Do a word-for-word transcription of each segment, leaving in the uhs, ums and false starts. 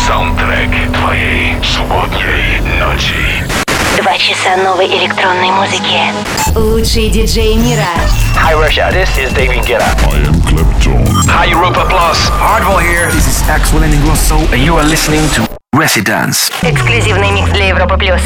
Саундтрек твоей субботней ночи. Два часа новой электронной музыки. Лучшие диджеи мира. Hi Russia, this is David Guetta. I am Clapton. Hi Europa Plus. Hardwell here. This is Axel Ingrosso, And you are listening to Residence. Эксклюзивный микс для Европы плюс.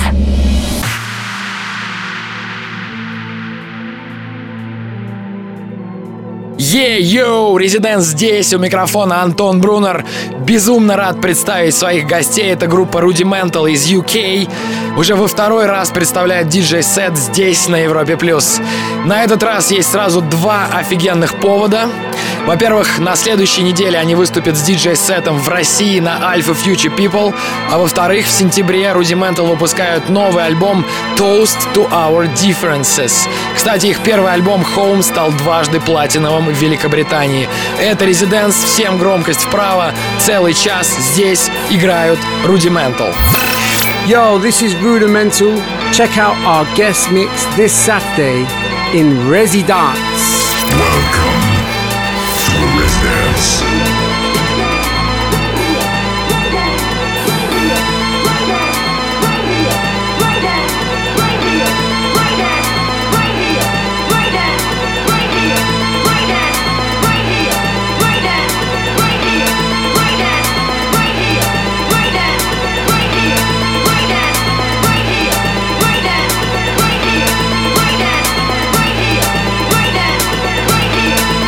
Е-йоу, Резиденс здесь, у микрофона Антон Брунер. Безумно рад представить своих гостей. Это группа Rudimental из ю кей. Уже во второй раз представляет диджей-сет здесь, на Европе+. На этот раз есть сразу два офигенных повода. Во-первых, на следующей неделе они выступят с диджей-сетом в России на Alpha Future People. А во-вторых, в сентябре Rudimental выпускают новый альбом Toast to Our Differences. Кстати, их первый альбом Home стал дважды платиновым в Великобритании. Это Резиденс, всем громкость вправо. Целый час здесь играют Rudimental. Yo, this is Rudimental. Check out our guest mix this Saturday in Residence. Welcome to Residence. Right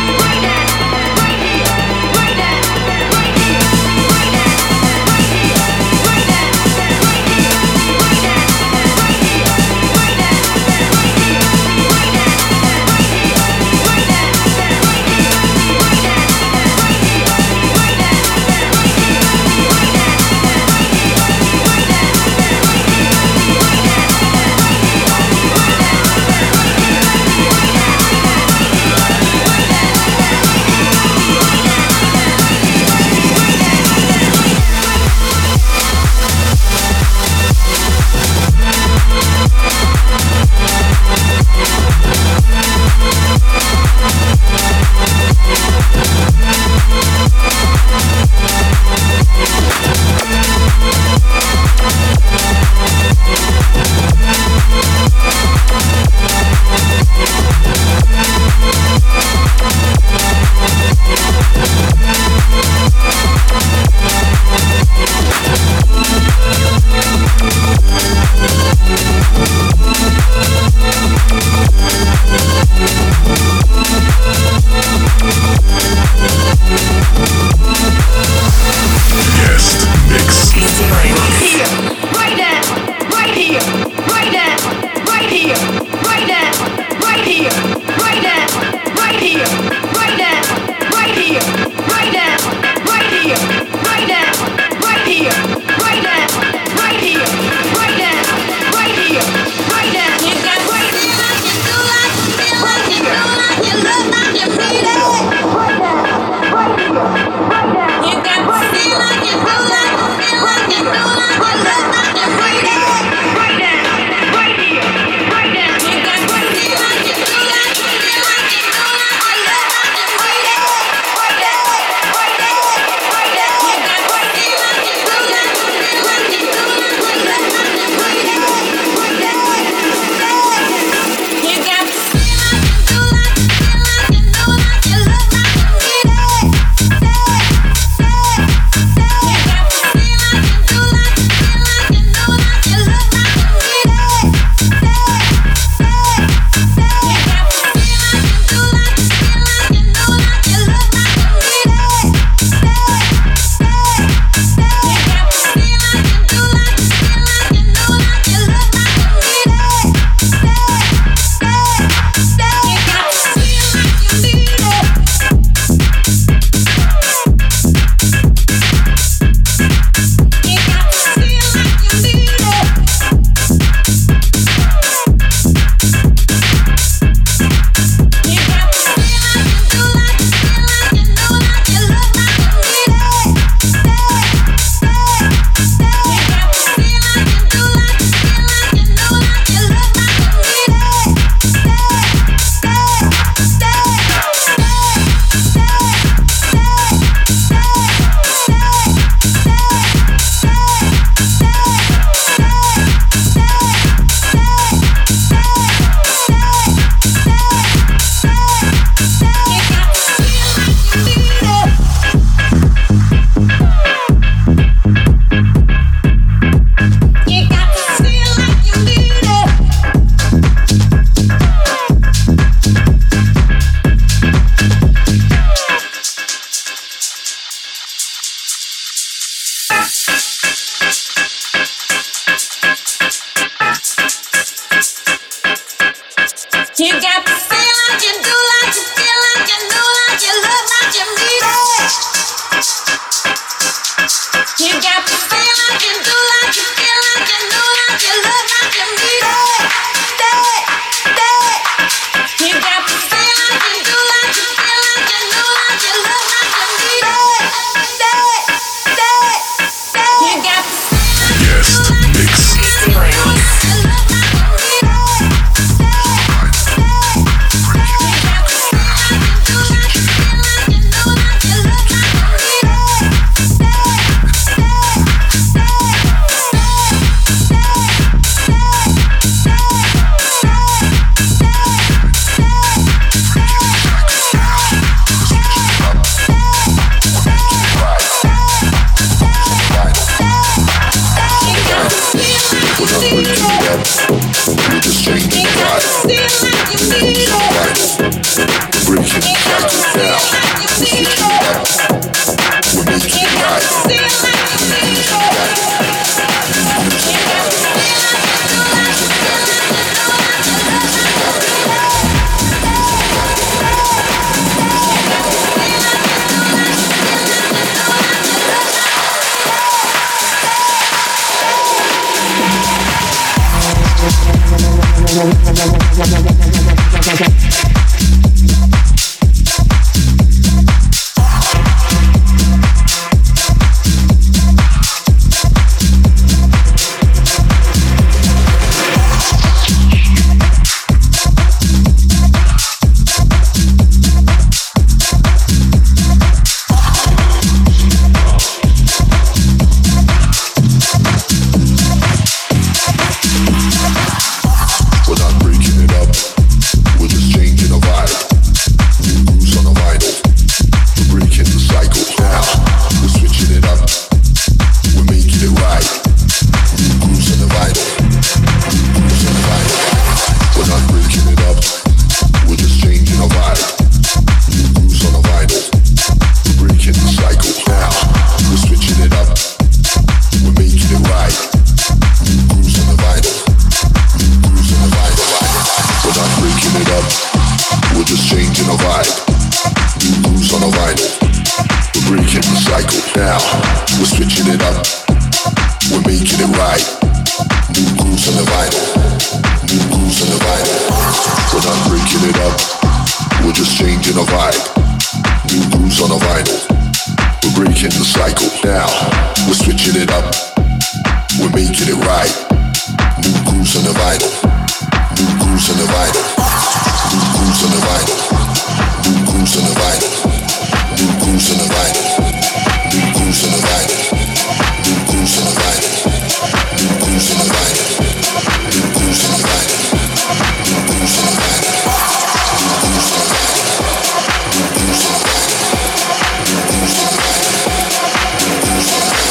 cycle. Now we're switching it up. We're making it right. New grooves on the vinyl. New grooves on the vinyl. We're not breaking it up. We're just changing the vibe. New grooves on the vinyl. We're breaking the cycle. Now we're switching it up. We're making it right. New grooves on the vinyl. New grooves on the vinyl. New grooves on the vinyl. New grooves on the vinyl. New grooves on the vinyl. New grooves on the vinyl. New grooves on the vinyl. New grooves on the vinyl. New grooves on the vinyl. New grooves on the vinyl. New grooves on the vinyl. New grooves on the vinyl. New grooves on the vinyl. New grooves on the vinyl.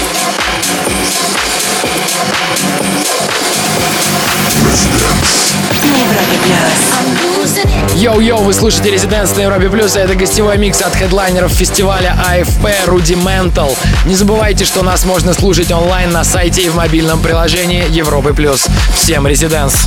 Йоу-йоу, вы слушаете Residence на Европе Плюс, а это гостевой микс от хедлайнеров фестиваля эй эф пи Rudimental. Не забывайте, что нас можно слушать онлайн на сайте и в мобильном приложении Европы Плюс. Всем Residence!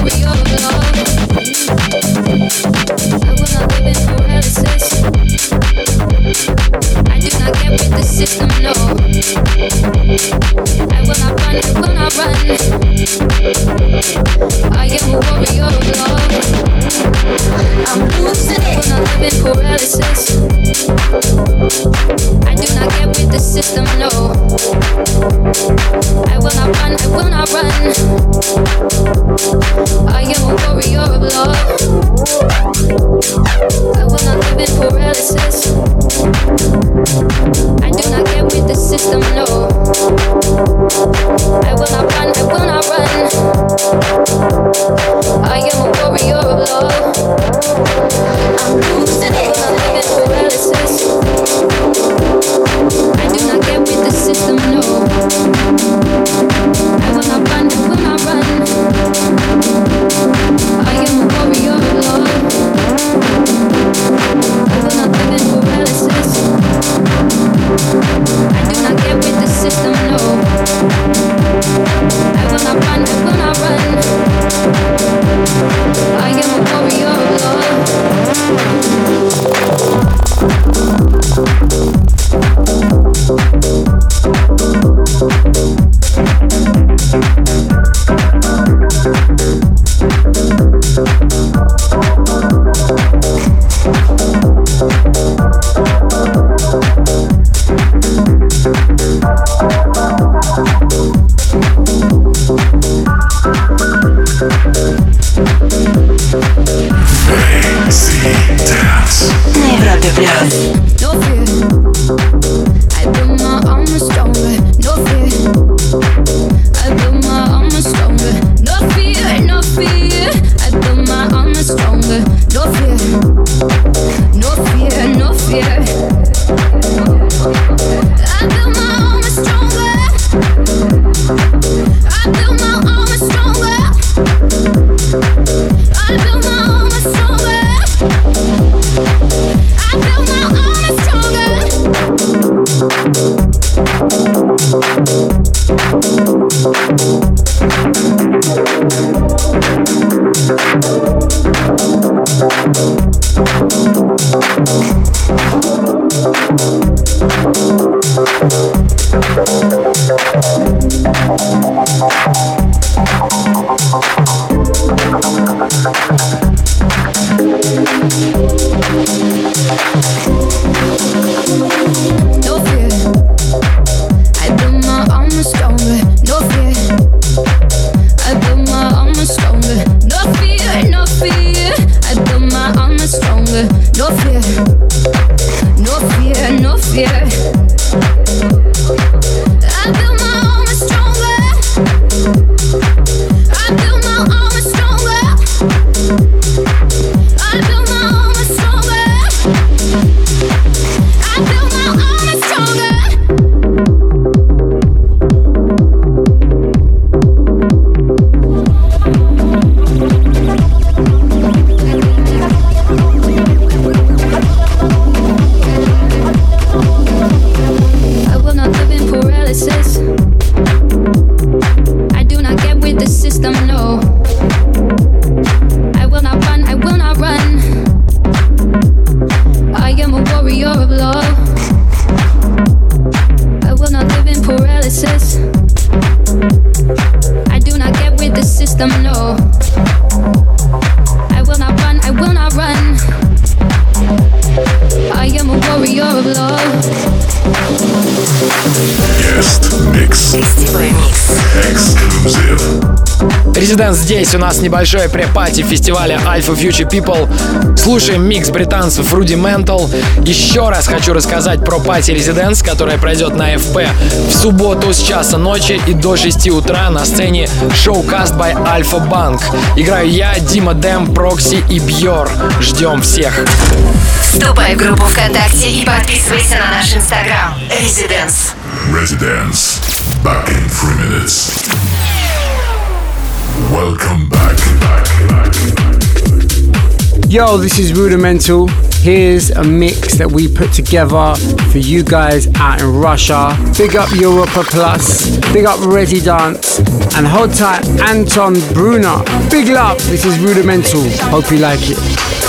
Residence здесь у нас небольшое пре-пати фестиваля Alpha Future People. Слушаем микс британцев Rudimental. Еще раз хочу рассказать про пати Residence, которая пройдет на эф пи в субботу с часа ночи и до шести утра на сцене Showcast by Alpha Bank. Играю я, Дима Дэм, Прокси и Бьор. Ждем всех. Вступай в группу ВКонтакте и подписывайся на наш инстаграм. Residence. Residence. Back in three minutes. Welcome back, back, back. Yo, this is Rudimental. Here's a mix that we put together for you guys out in Russia. Big up Europa Plus, big up Residence, and hold tight Anton Brunner. Big love, this is Rudimental. Hope you like it.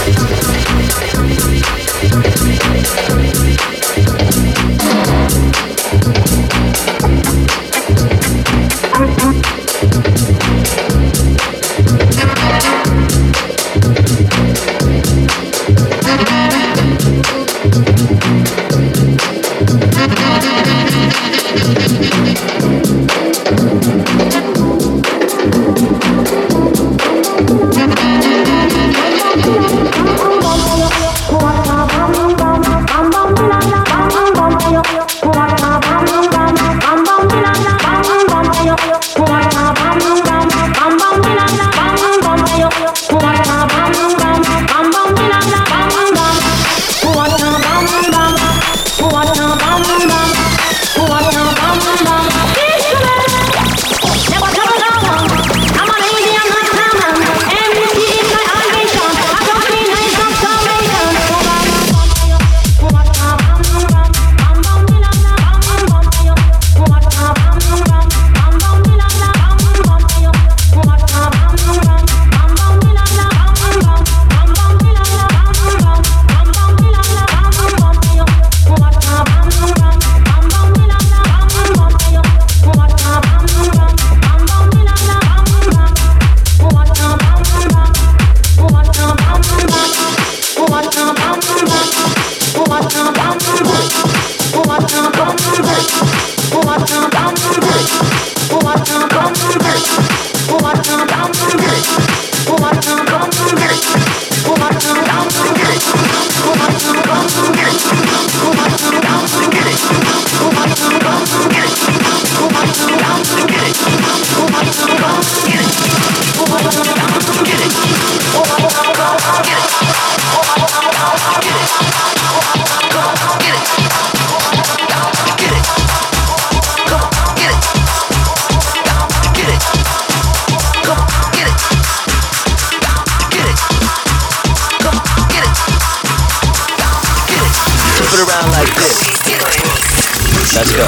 Let's go.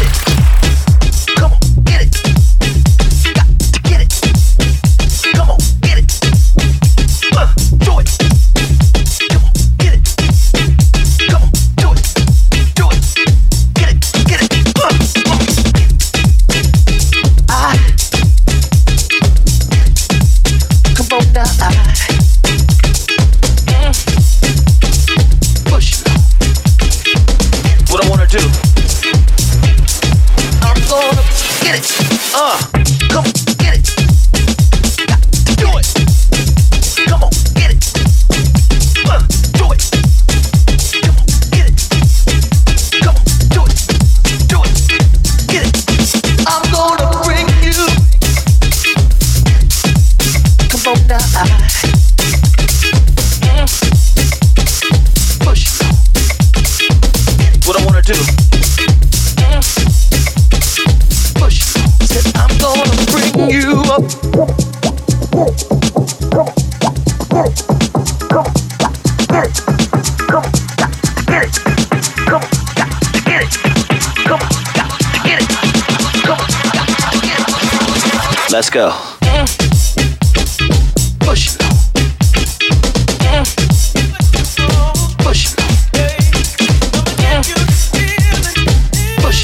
Let's go. Push. Push. Push.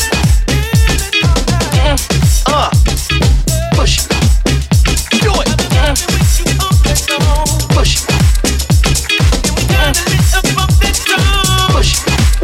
Uh. Push. Do it. Push. Push.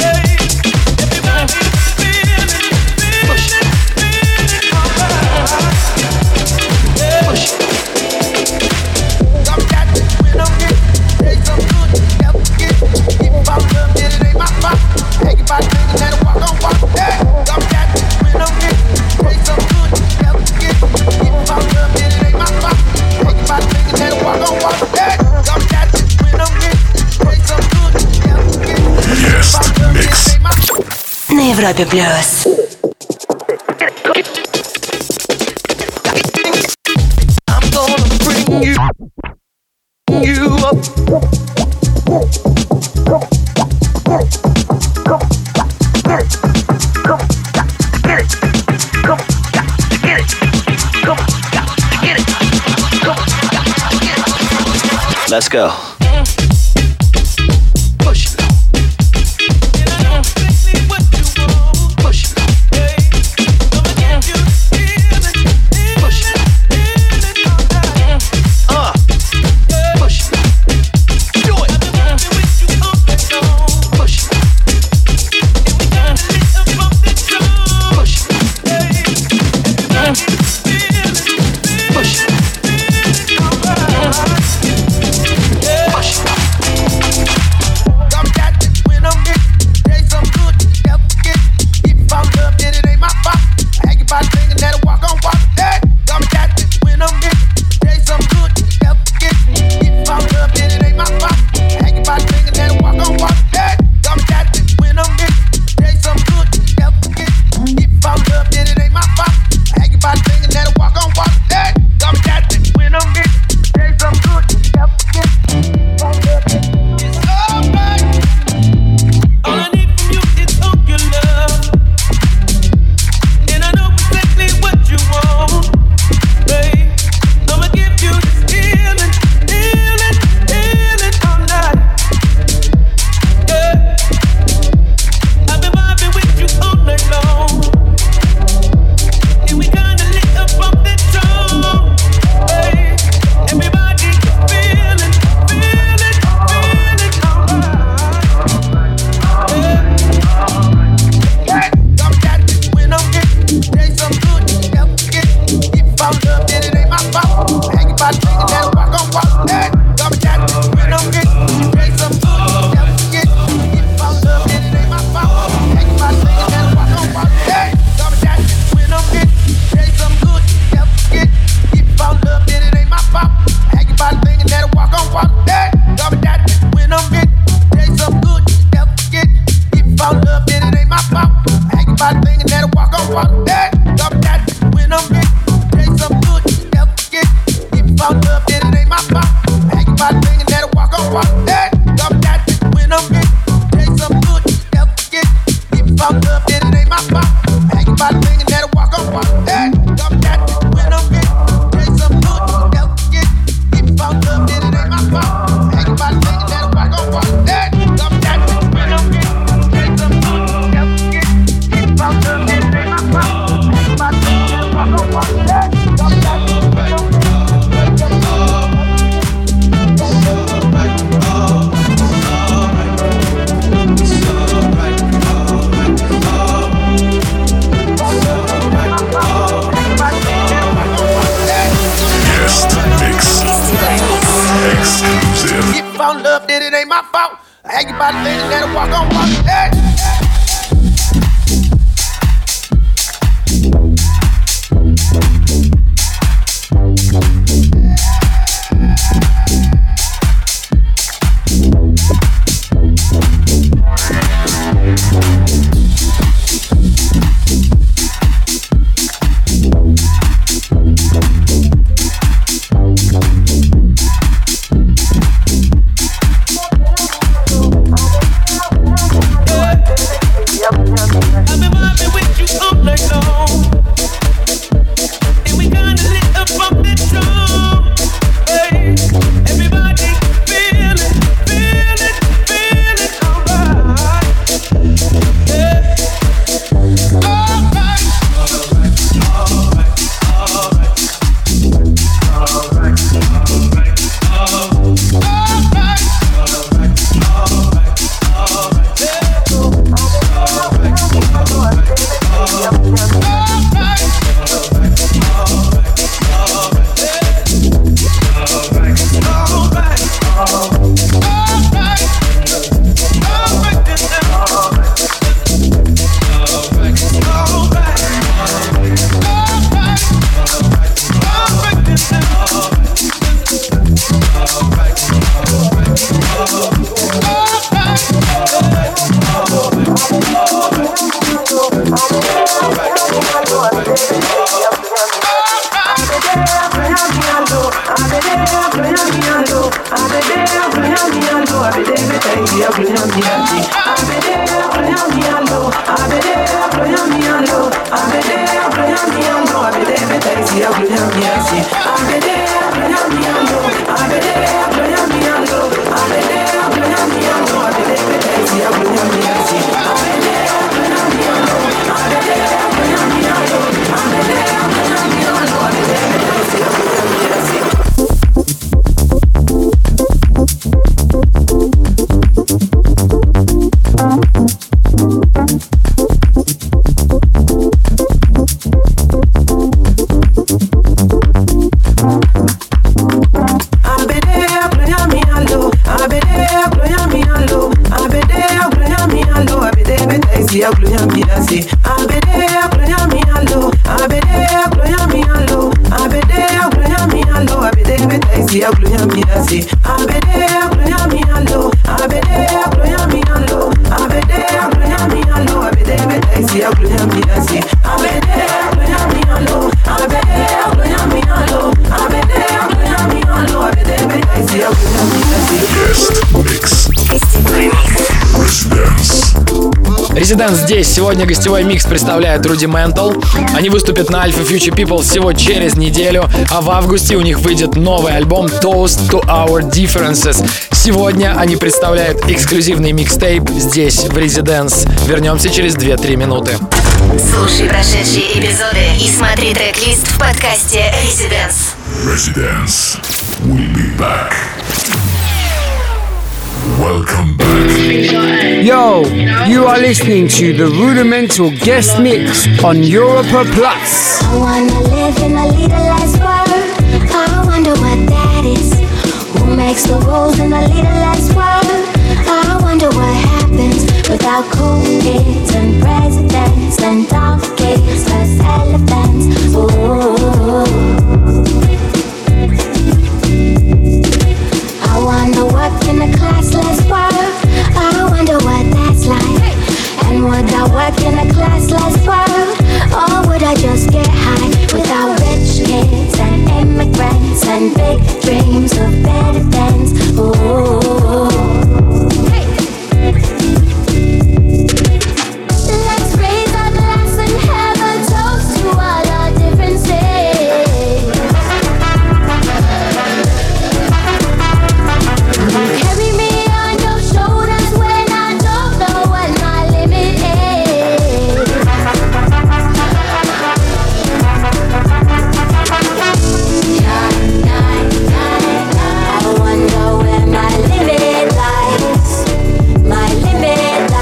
На Европе Плюс. You up. Let's go. Every day Residence здесь. Сегодня гостевой микс представляет Rudimental. Они выступят на Alpha Future People всего через неделю, а в августе у них выйдет новый альбом Toast to Our Differences. Сегодня они представляют эксклюзивный микстейп здесь, в Residence. Вернемся через две-три минуты. Слушай прошедшие эпизоды и смотри трек-лист в подкасте Residence. Residence. We'll be back. Welcome back. Yo, you are listening to the Rudimental guest mix on Europa Plus. I wanna live in a leaderless world. I wonder what that is. Who makes the rules in a leaderless world? I wonder what happens without cool kids and presidents and donkeys plus elephants. Ooh. I wonder what in a classless world. I wonder what that's like. And would I work in a classless world? Or would I just get high without rich kids and immigrants and big dreams of better things? Ooh. Let's raise our glass and have a toast to all our differences. Carry me on your shoulders when I don't know what my limit is. I wonder where my limit lies. My limit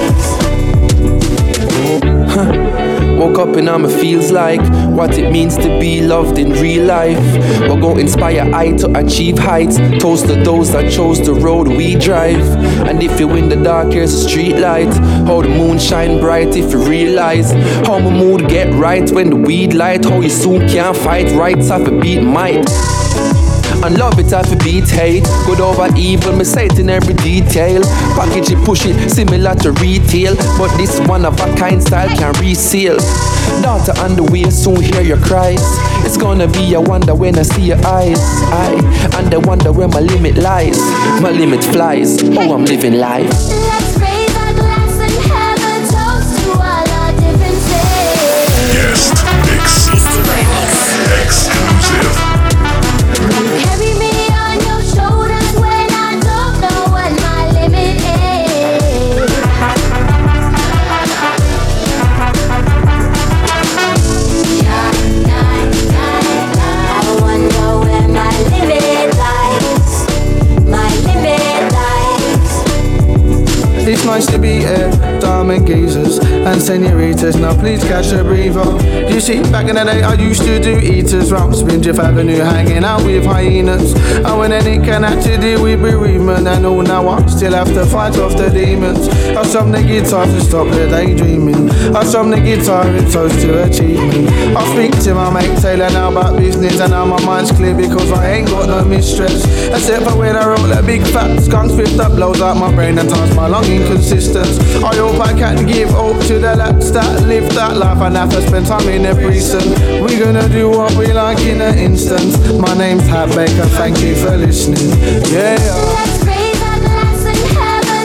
lies. Woke up and I'ma feels like what it means to be loved in real life. We'll go inspire I to achieve heights. Toast to those that chose the road we drive. And if you in the dark, here's a street light. How the moon shine bright if you realize how my mood get right when the weed light. How you soon can't fight rights off a beat might. And love it off a beat hate. Good over evil, me say it in every detail. Package it, push it, similar to retail. But this one of a kind style can reseal. Daughter on the way, soon hear your cries. It's gonna be a wonder when I see your eyes. I and I wonder where my limit lies. My limit flies, oh I'm living life. Let's raise our glass and have a toast to all our differences. Guest mix. Exclusive. Carry me on your shoulders when I don't know what my limit is. I wonder where my limit lies. My limit lies. It's nice to be here, diamond geezers and senoritas. Now please catch a breather. You see, back in the day I used to do eaters round Spindrift Avenue, hanging out with hyenas. And when any can have to deal with bereavement and all, now I still have to fight off the demons. I strum the guitar to stop the daydreaming. I strum the guitar in toast to achievement. I speak to my mate Taylor now about business, and now my mind's clear because I ain't got no mistress. Except for when I roll that big fat skunk swift that blows out my brain and turns my lung inconsistent. I hope I can give hope to the lads that live that life and have to spend time in a prison. We're gonna do what we like in an instant. My name's Hat Baker, thank you for listening. Yeah. Let's raise our glass and have a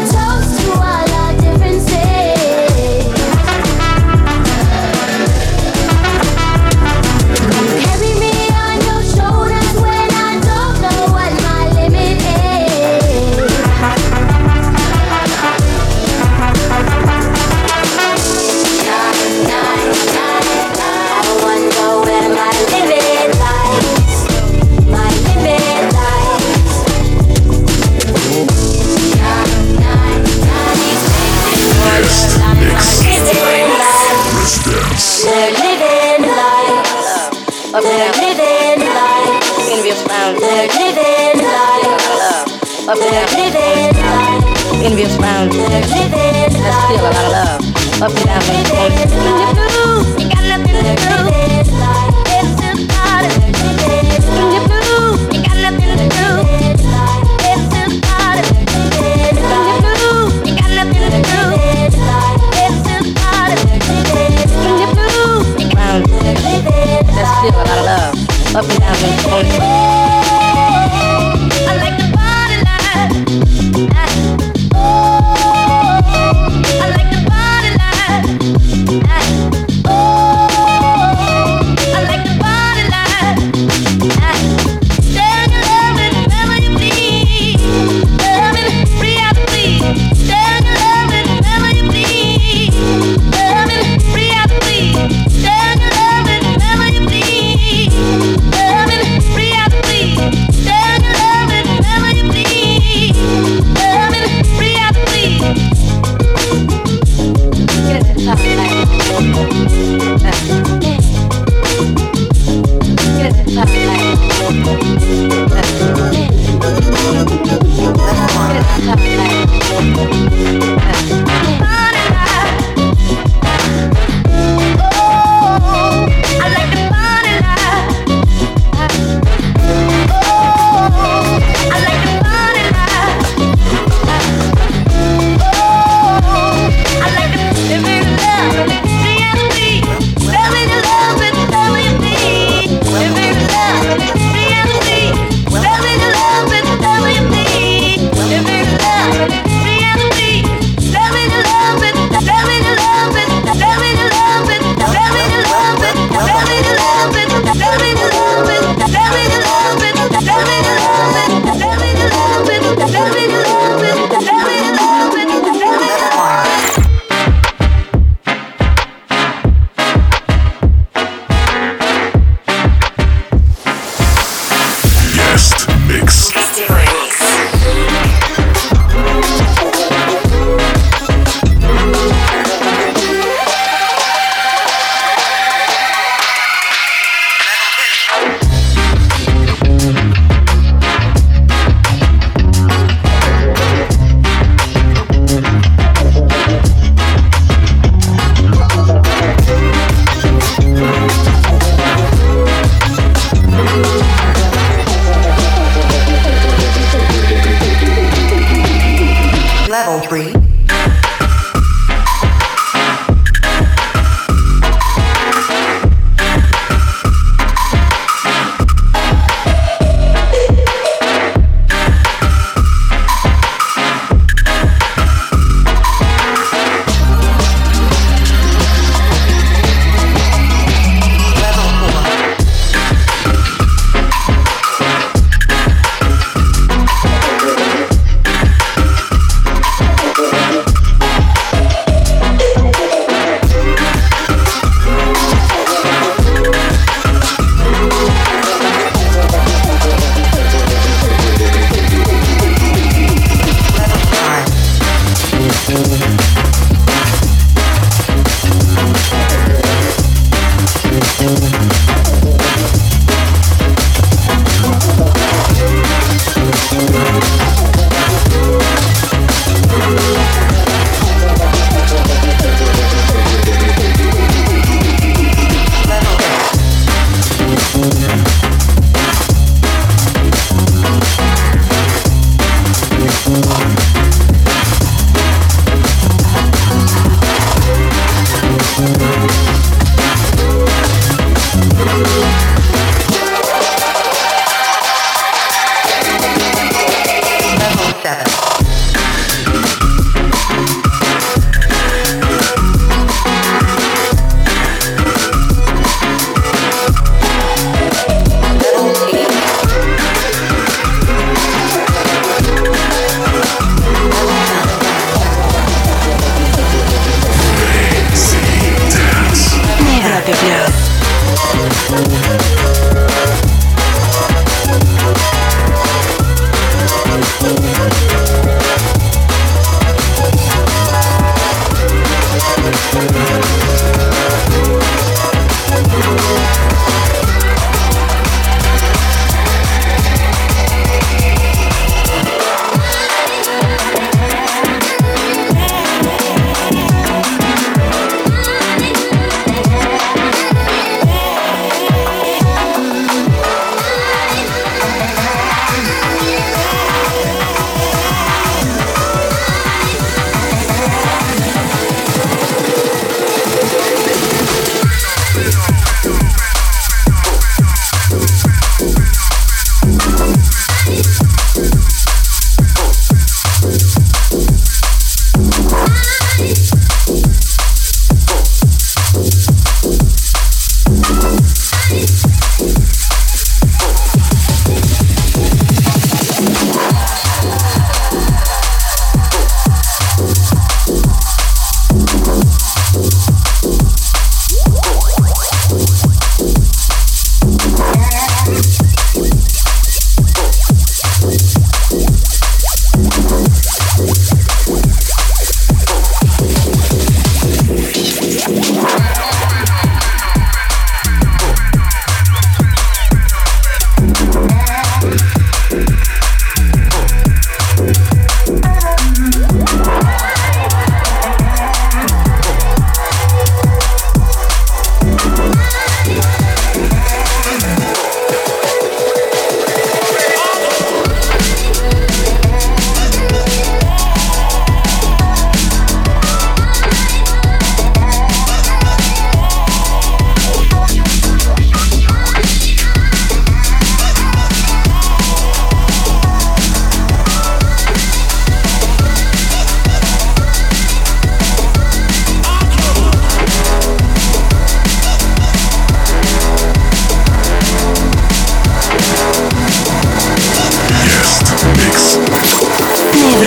up and down. Envious round. Let's feel a lot of love. Up and down. When you're blue, you got nothing to do. It's just party. When you're blue, you got nothing to do. It's just party. When you're blue, you got nothing to do. It's just party. When you're blue, round. Let's feel a lot of love. Up and down. I like the party life. Oh, I like the party life. Oh.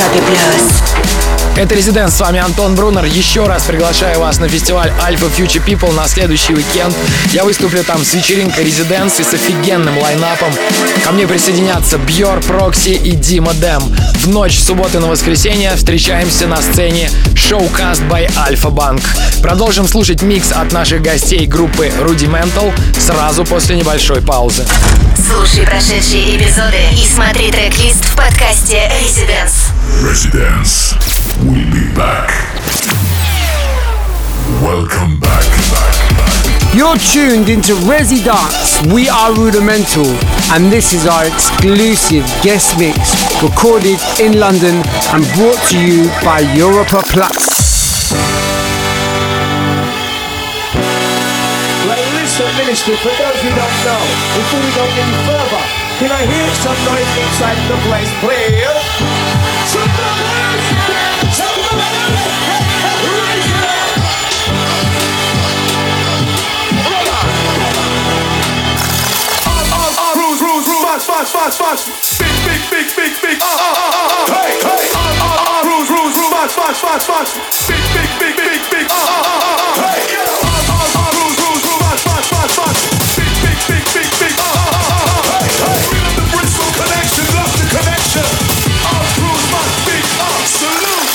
Европе плюс. Это Residence, с вами Антон Брунер. Еще раз приглашаю вас на фестиваль Alpha Future People на следующий уикенд. Я выступлю там с вечеринкой Residence и с офигенным лайнапом. Ко мне присоединятся Бьор, Прокси и Дима Дэм. В ночь с субботы на воскресенье встречаемся на сцене Showcast by Alpha Bank. Продолжим слушать микс от наших гостей группы Rudimental сразу после небольшой паузы. Слушай прошедшие эпизоды и смотри трек-лист в подкасте Residence. Residence. We'll be back. Welcome back. back, back. You're tuned into Residence. We are Rudimental, and this is our exclusive guest mix recorded in London and brought to you by Europa Plus. Well, listen, Ministry, for those who don't know, before we go any further, can I hear some noise inside the place, please? Some noise! Some noise! Raise it up! Hold on! All, all, all, rules, rules, rules, fast, fast, fast, fast. Big, big, big, big, big, uh, uh, uh, uh, hey, hey! All, all, all, rules, rules, rules, fast, fast, fast, fast. Big, big, big, big, big, uh, uh, uh, uh, hey! All, all, all, rules, rules, rules, fast, fast, fast, fast. Big, big, big, big, big, uh, uh, uh, uh, hey, hey! Feel the Bristol connection, love the connection. All rules must be absolute.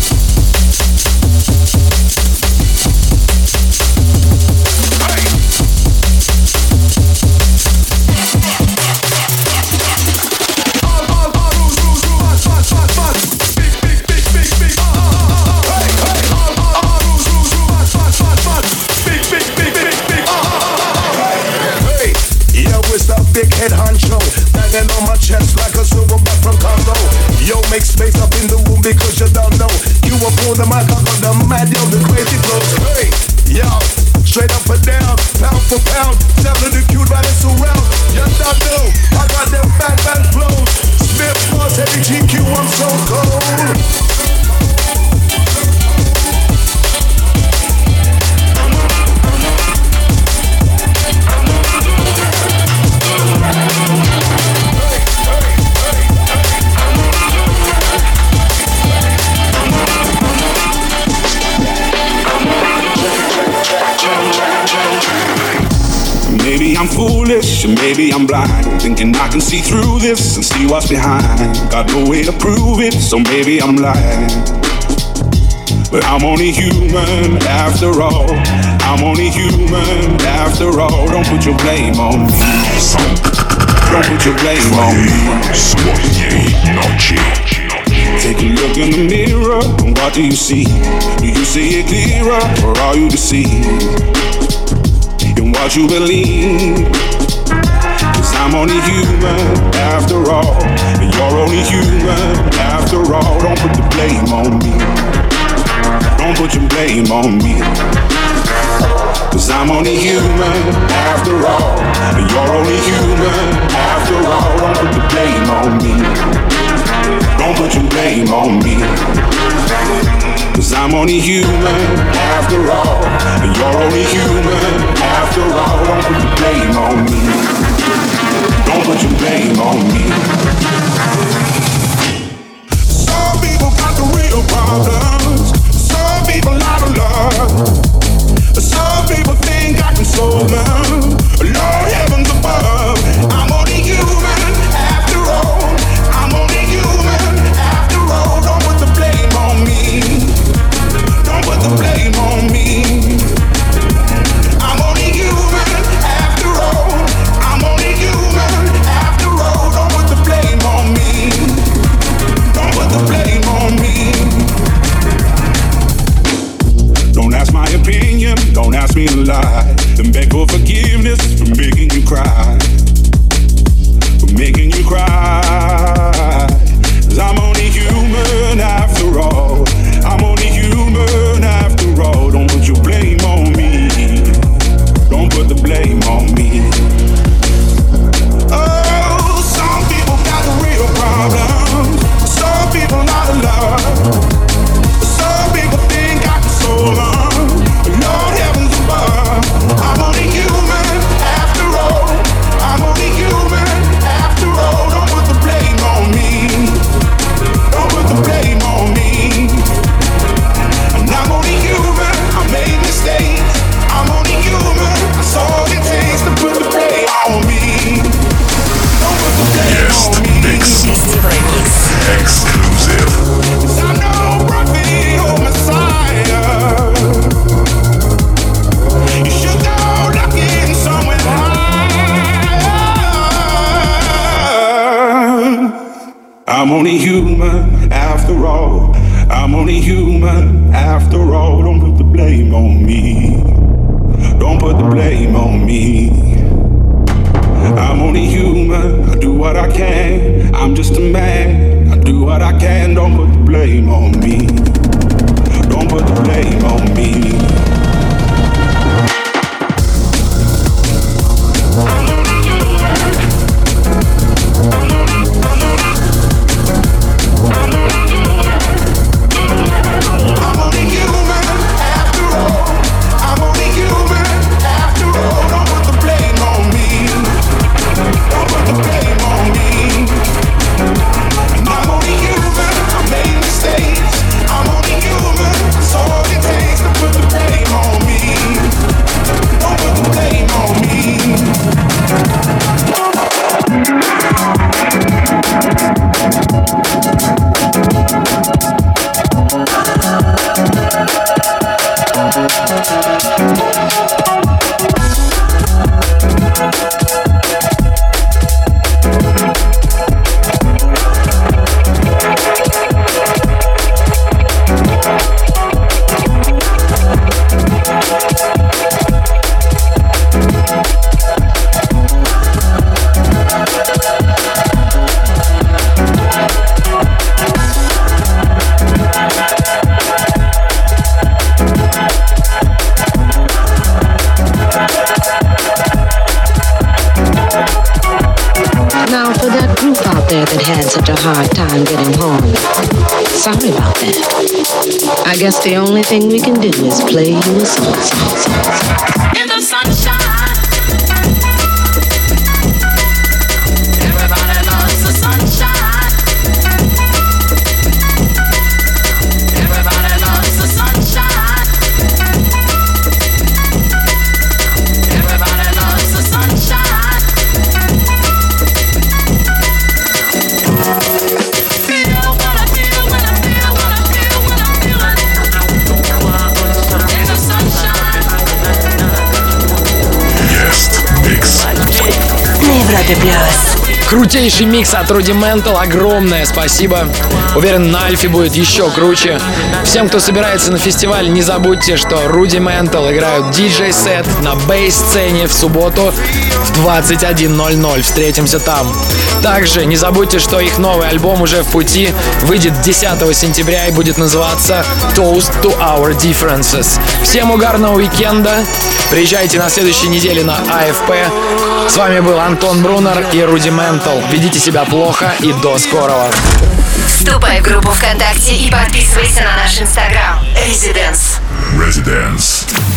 Big head honcho, banging on my chest like a silverback from Congo. Yo, make space up in the room because you don't know. You were born the mic, I got the mad, yo, the crazy flows. Hey, yo, straight up and down, pound for pound, selling the cute right it's around. You don't know, I got them bang bang flows. Smith, Boss, heavy G Q, I'm so cold. Maybe I'm foolish, and maybe I'm blind, thinking I can see through this and see what's behind. Got no way to prove it, so maybe I'm lying. But I'm only human after all. I'm only human after all. Don't put your blame on me. Don't put your blame on me. Take a look in the mirror, and what do you see? Do you see it clearer, or are you deceived in what you believe? Cause I'm only human after all, and you're only human after all. Don't put the blame on me. Don't put your blame on me. Cause I'm only human after all, and you're only human after all. Don't put the blame on me. Don't put your blame on me. Cause I'm only human after all, and you're only human after all. Don't put the blame on me. Don't put your blame on me. Some people got the real problems. Some people out of love. Some people think I can solve them. Lord heavens above. I'm only human after all. I'm only human after all. Don't put the blame on me. Don't put the blame on me. I'm only human after all. I'm only human after all. Don't put the blame on me. only human after all. I'm only human after all. Don't put the blame on me. Don't put the blame on me. I'm only human. I do what I can. I'm just a man. I do what I can. Don't put the blame on me. Don't put the blame on me. Hard time getting home. Sorry about that. I guess the only thing we can do is play you a song, song, song, song. In the sunshine, everybody loves the sunshine. Everybody loves the sunshine. Everybody loves the sunshine. Крутейший микс от Rudimental, огромное спасибо. Уверен, на Альфе будет еще круче. Всем, кто собирается на фестиваль, не забудьте, что Rudimental играют диджей-сет на бейс-сцене в субботу в двадцать один ноль ноль. Встретимся там. Также не забудьте, что их новый альбом уже в пути, выйдет десятого сентября и будет называться Toast to Our Differences. Всем угарного уикенда. Приезжайте на следующей неделе на а эф пэ. С вами был Антон Брунер и Rudimental. Ведите себя плохо и до скорого. Вступай в группу ВКонтакте и подписывайся на наш инстаграм. Residence. Residence.